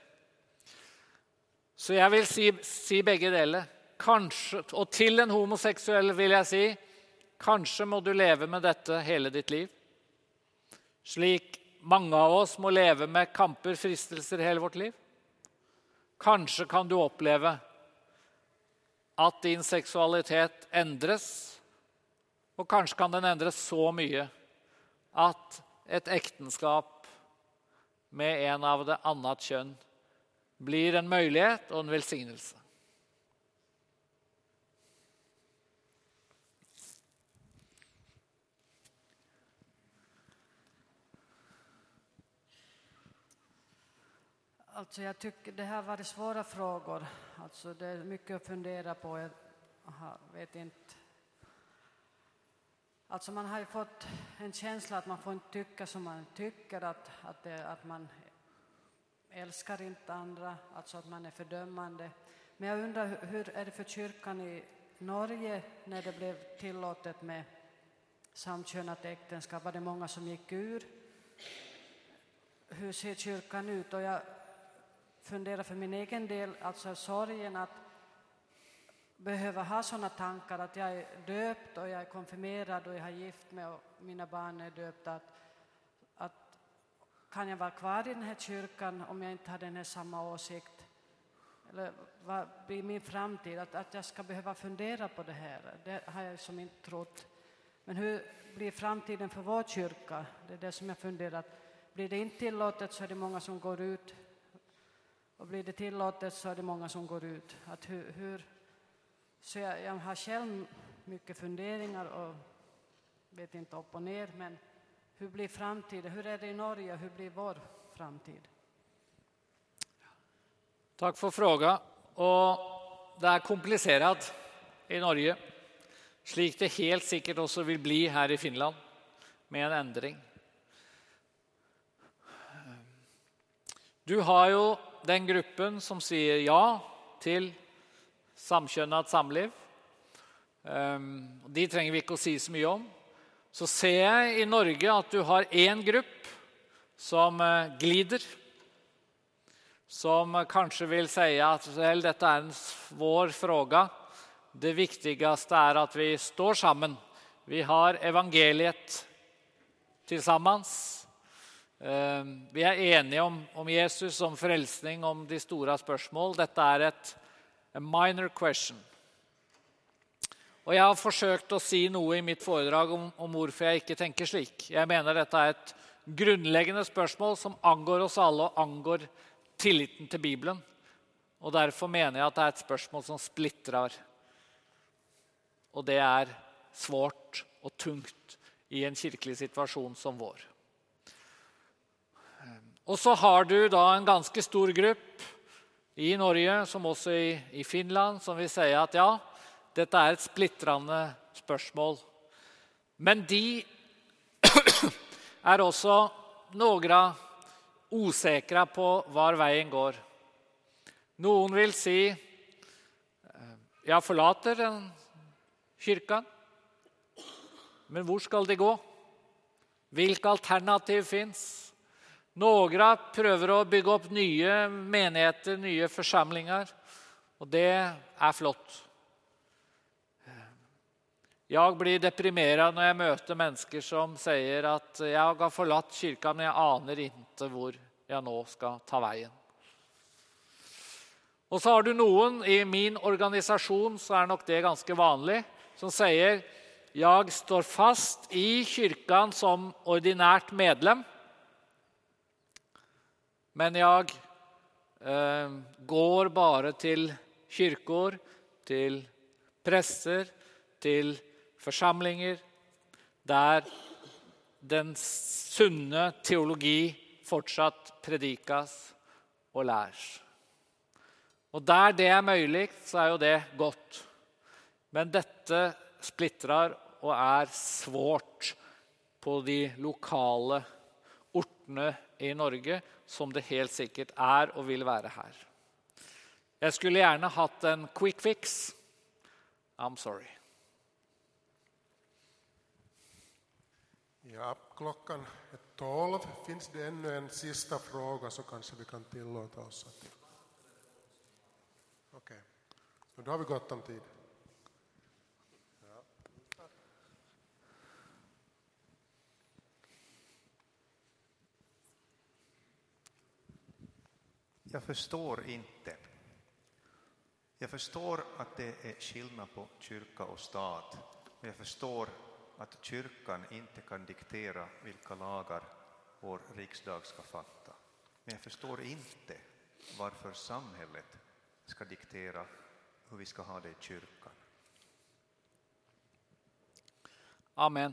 Så jag vill si, si bägge delar. Kanske, och till en homosexuell vill jag si, kanske må du leva med detta hela ditt liv. Slik många av oss må leva med kamper, fristelser hela vårt liv. Kanske kan du uppleva att din sexualitet ändras. Och kanske kan den ändras så mycket att ett äktenskap med en av det annat kön blir en möjlighet och en välsignelse. Alltså jag tycker det här var svåra frågor. Alltså det är mycket att fundera på. Jag vet inte. Alltså man har ju fått en känsla att man får inte tycka som man tycker. Att, att, det, att man älskar inte andra. Alltså att man är fördömande. Men jag undrar hur är det för kyrkan i Norge när det blev tillåtet med samkönat äktenskap? Var det många som gick ur? Hur ser kyrkan ut? Och jag funderar för min egen del, alltså sorgen att behöva ha sådana tankar att jag är döpt och jag är konfirmerad och jag har gift mig och mina barn är döpta. Att, att kan jag vara kvar i den här kyrkan om jag inte har den här samma åsikt? Eller vad blir min framtid? Att, att jag ska behöva fundera på det här, det har jag som inte trott. Men hur blir framtiden för vår kyrka? Det är det som jag funderar. Blir det inte tillåtet så är det många som går ut. Och blir det tillåtet så är det många som går ut. Att hur, hur, så jag, jag har själv mycket funderingar och vet inte upp och ner. Men hur blir framtiden? Hur är det i Norge? Hur blir vår framtid? Tack för frågan. Och det är komplicerat i Norge. Slik det helt säkert också vill bli här i Finland med en ändring. Du har ju den gruppen som säger ja till samkönat samliv. De tränger vi inte att säga så mycket om. så ser jeg i Norge at du har en grupp som glider, som kanske vill säga att väl detta är en svår fråga. Det viktigaste är att vi står sammen. Vi har evangeliet tillsammans. Vi är eniga om, om Jesus, om frälsning, om de stora spörsmål. Detta är ett a minor question. Och jag har försökt att si noe i mitt foredrag om, om hvorfor jag inte tänker slik. Jag menar detta är ett grundläggande spörsmål som angår oss alla och angår tilliten till Bibeln. Och därför menar jag att det är ett spörsmål som splittrar. Och det är svårt och tungt i en kyrklig situation som vår. Och så har du då en ganska stor grupp i Norge som också i, i Finland som vill säga att ja, detta är ett splittrande spörsmål. Men de är också några osäkra på var vägen går. Någon vill si jag förlater den kyrkan. Men hvor skal det gå? Vilka alternativ finns? Några prövar att bygga upp nya menigheter, nya församlingar. Och det är flott. Jag blir deprimerad när jag möter människor som säger att jag har förlatt kyrkan men jag anar inte var jag nu ska ta vägen. Och så har du någon i min organisation, så är nog det ganska vanligt, som säger jag står fast i kyrkan som ordinärt medlem. Men jag eh, går bara till kyrkor, till präster, till församlingar där den sunna teologi fortsatt predikas och lärs. Och där det är möjligt så är ju det gott. Men detta splittrar och är svårt på de lokala orterna i Norge som det helt säkert är och vill vara här. Jag skulle gärna haft en quick fix. I'm sorry. Ja, klockan är tolv. Finns det ännu en sista fråga så kanske vi kan tillåta oss att... Okej, okay. Så då har vi gott om tid. Ja. Jag förstår inte. Jag förstår att det är skillnad på kyrka och stat. Men jag förstår att kyrkan inte kan diktera vilka lagar vår riksdag ska fatta. Men jag förstår inte varför samhället ska diktera hur vi ska ha det i kyrkan. Amen.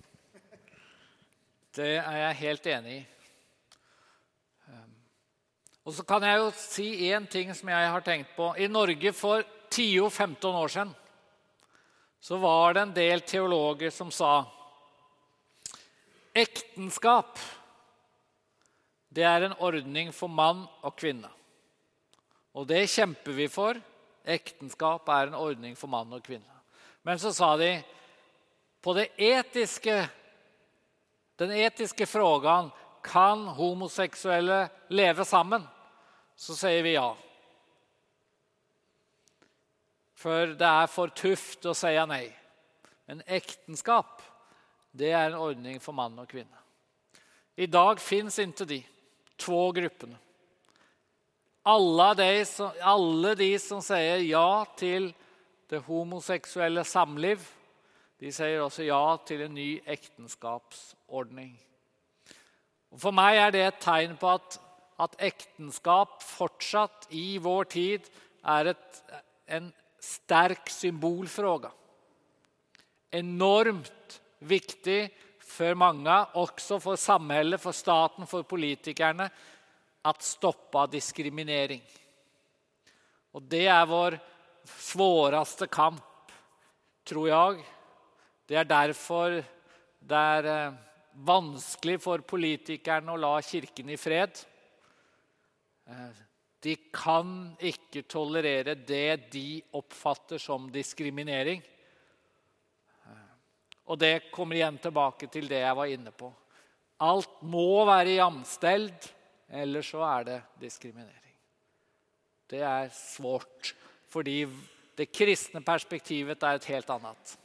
Det är jag helt enig i. Och så kan jag ju si en ting som jag har tänkt på. I Norge för tio femton år sedan så var det en del teologer som sa äktenskap det är en ordning för man och kvinna. Och det kämpar vi för. Äktenskap är en ordning för man och kvinna. Men så sa de på det etiska den etiska frågan kan homosexuella leva samman? Så säger vi ja. För det är för tufft att säga nej. Men äktenskap, det är en ordning för man och kvinna. Idag finns inte de två grupperna. Alla de som, alla de som säger ja till det homosexuella samliv, de säger också ja till en ny äktenskapsordning. Och för mig är det ett tecken på att, att äktenskap fortsatt i vår tid är ett, en stark symbolfråga. Enormt viktig för många, också för samhället, för staten, för politikerna att stoppa diskriminering. Och det är vår svåraste kamp, tror jag. Det är därför det är vanskelig för politikerna att la kyrkan i fred. De kan inte tolerera det de uppfattar som diskriminering. Og det kommer igjen tilbake til det jeg var inne på. Alt må være jamställd, eller så er det diskriminering. Det er svårt, fordi det kristne perspektivet er et helt annet.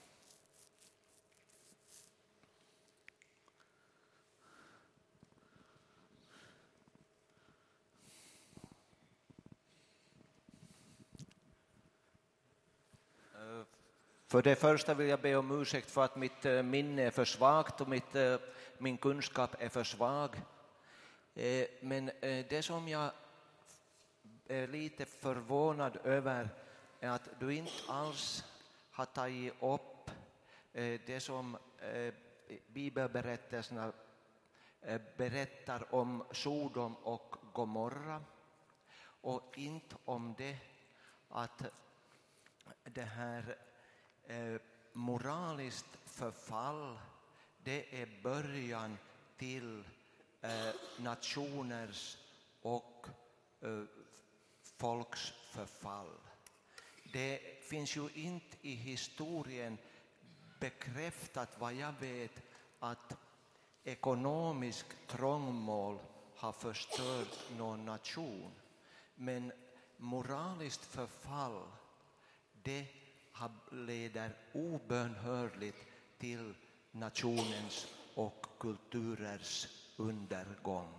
För det första vill jag be om ursäkt för att mitt minne är för svagt och mitt, min kunskap är för svag. Men det som jag är lite förvånad över är att du inte alls har tagit upp det som bibelberättelserna berättar om Sodom och Gomorra. Och inte om det att det här Eh, moraliskt förfall, det är början till eh, nationers och eh, folks förfall. Det finns ju inte i historien bekräftat vad jag vet att ekonomisk trångmål har förstört någon nation. Men moraliskt förfall, det leder obönhörligt till nationens och kulturers undergång.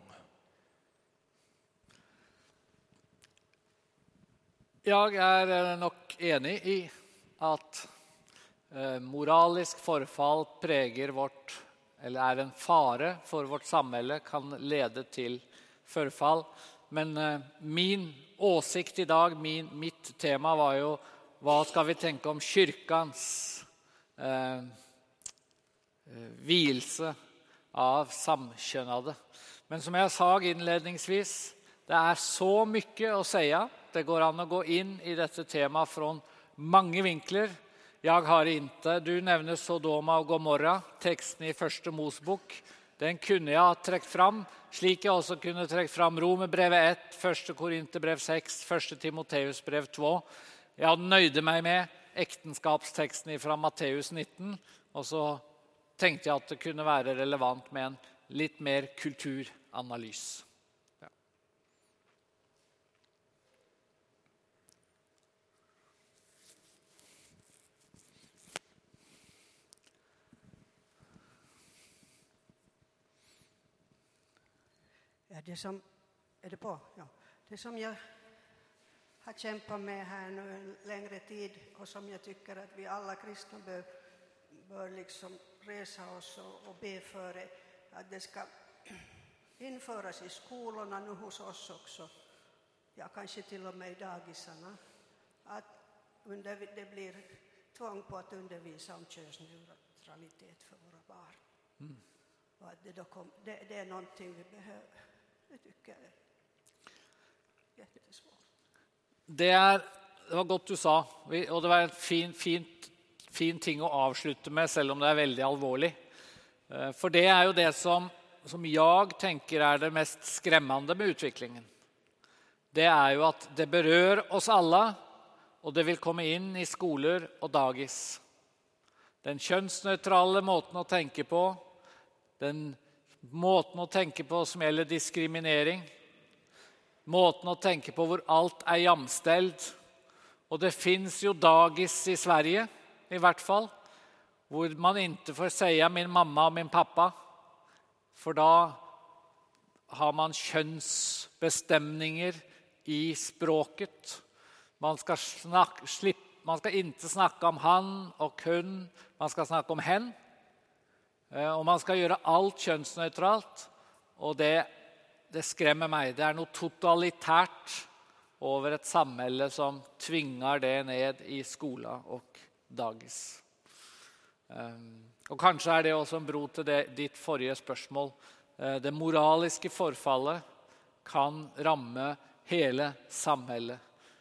Jag är nog enig i att eh, moralisk forfall präger vårt, eller är en fare för vårt samhälle, kan leda till förfall. Men eh, min åsikt idag, min, mitt tema var ju vad ska vi tänka om kyrkans eh, vilse av samkönade. Men som jag sa inledningsvis, det är så mycket att säga. Det går an att gå in i detta tema från många vinklar. Jag har inte, du nämner Sodoma och Gomorra, texten i första Mosebok. Den kunde jag ha träckt fram, slik jag också kunde träckt fram Romerbrevet ett, första Korinthierbrev sex, första Timoteusbrev två. Jag nöjde mig med äktenskapstexten från Matteus nitton, och så tänkte jag att det kunde vara relevant med en lite mer kulturanalys. Ja. Ja, det som är det på? Ja. Det som jag har kämpat med här nu en längre tid och som jag tycker att vi alla kristna bör, bör liksom resa oss och, och be för det, att det ska införas i skolorna nu hos oss också, ja kanske till och med i dagisarna, att under, det blir tvång på att undervisa om könsneutralitet för våra barn. Mm. Och att det, då kom, det, det är någonting vi behöver. Det tycker jag är jättesvårt. Det, är, det var godt du sa, och det var en fin, fint, fin ting att avsluta med, selv om det är väldigt allvarligt. För det är ju det som, som jag tänker är det mest skrämmande med utvecklingen. Det är ju att det berör oss alla, och det vill komma in i skolor och dagis. Den könsneutrala måten att tänka på, den måten att tänka på som gäller diskriminering, måten att tänka på hvor allt är jamställt. Och det finns ju dagis i Sverige i vart fall, hvor man inte får säga min mamma och min pappa, för då har man könsbestämningar i språket. Man ska, snack, slipp, man ska inte snacka om han och hon, man ska snacka om hen. Och man ska göra allt könsneutralt, och det Det skrämmer mig. Det är något totalitärt över ett samhälle som tvingar det ned i skola och dagis. Och kanske är det också en bro till det, ditt förra spörsmål. Det moraliska förfallet kan ramme hela samhället.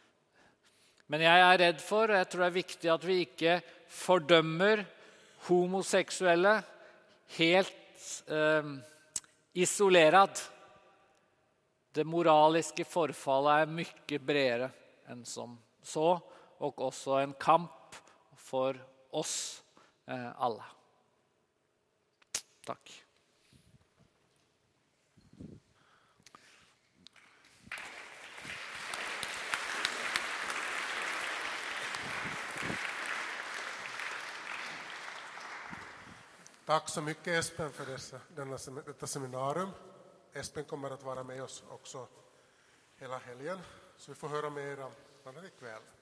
Men jag är rädd för, jag tror det är viktigt att vi inte fördömer homosexuella helt eh, isolerat. Det moraliska förfallet är mycket bredare än som så, och också en kamp för oss eh, alla. Tack. Tack så mycket Espen för dessa, denna, detta seminarium. Espen kommer att vara med oss också hela helgen, så vi får höra mera bland annat ikväll.